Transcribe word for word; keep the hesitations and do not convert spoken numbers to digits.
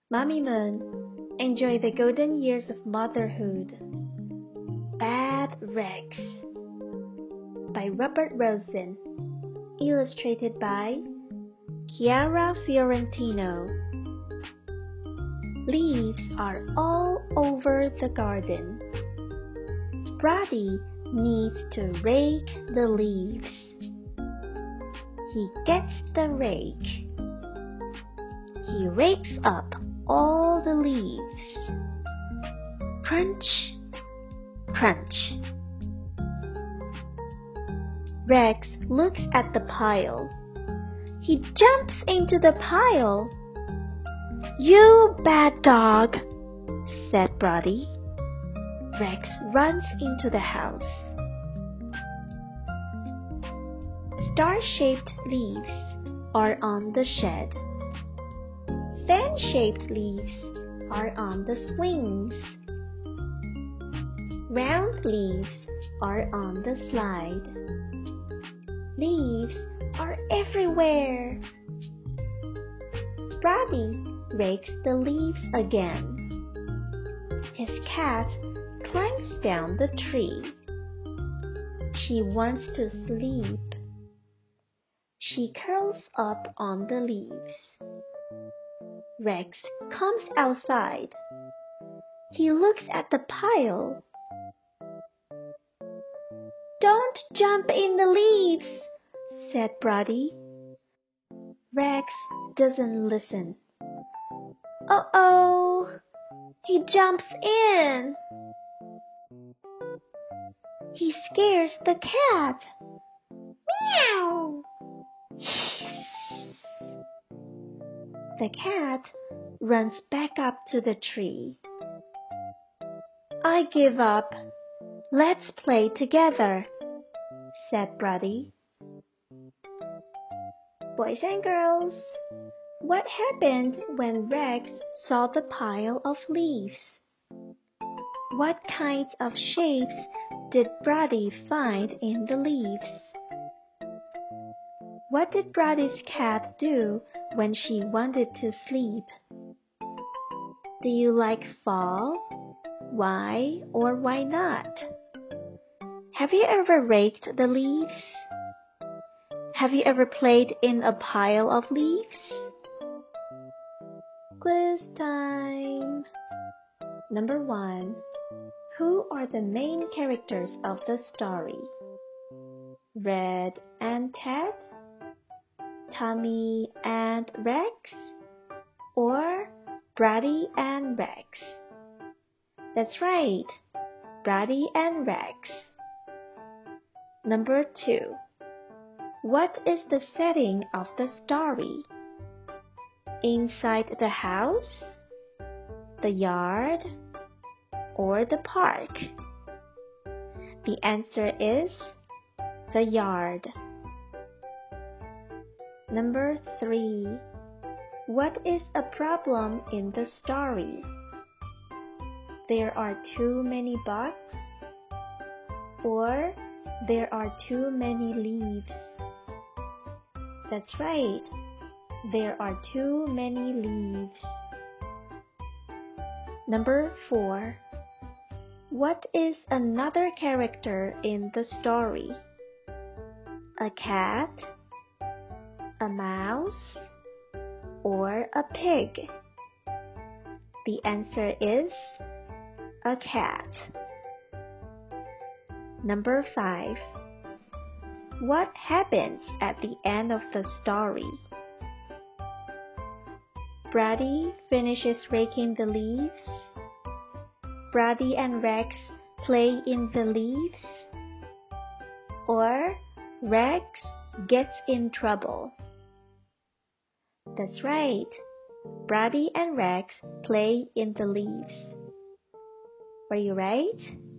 Mommy Moon, enjoy the golden years of motherhood. Bad Rex by Robert Rosen. Illustrated by Chiara Fiorentino. Leaves are all over the garden. Brady needs to rake the leaves. He gets the rake. He rakes up all the leaves. Crunch, crunch. Rex looks at the pile. He jumps into the pile. "You bad dog," said Brady. Rex runs into the house. Star-shaped leaves are on the shed. Fan-shaped leaves are on the swings. Round leaves are on the slide. Leaves are everywhere. Brady rakes the leaves again. His cat climbs down the tree. She wants to sleep. She curls up on the leaves. Rex comes outside. He looks at the pile. "Don't jump in the leaves," said Brady. Rex doesn't listen. Uh-oh! He jumps in. He scares the cat. Meow! The cat runs back up to the tree. "I give up. Let's play together," said Brady. Boys and girls, what happened when Rex saw the pile of leaves? What kinds of shapes did Brady find in the leaves? What did Brady's cat do when she wanted to sleep? Do you like fall? Why or why not? Have you ever raked the leaves? Have you ever played in a pile of leaves? Quiz time! Number one. Who are the main characters of the story? Red and Ted? Tommy and Rex? Or Brady and Rex? That's right, Brady and Rex. Number two. What is the setting of the story? Inside the house? The yard? Or the park? The answer is the yard. Number three. What is a problem in the story? There are too many bugs? Or there are too many leaves? That's right, there are too many leaves. Number four. What is another character in the story? A cat? A mouse? Or a pig? The answer is a cat. Number five. What happens at the end of the story? Brady finishes raking the leaves. Brady and Rex play in the leaves. Or Rex gets in trouble. That's right, Brady and Rex play in the leaves. Were you right?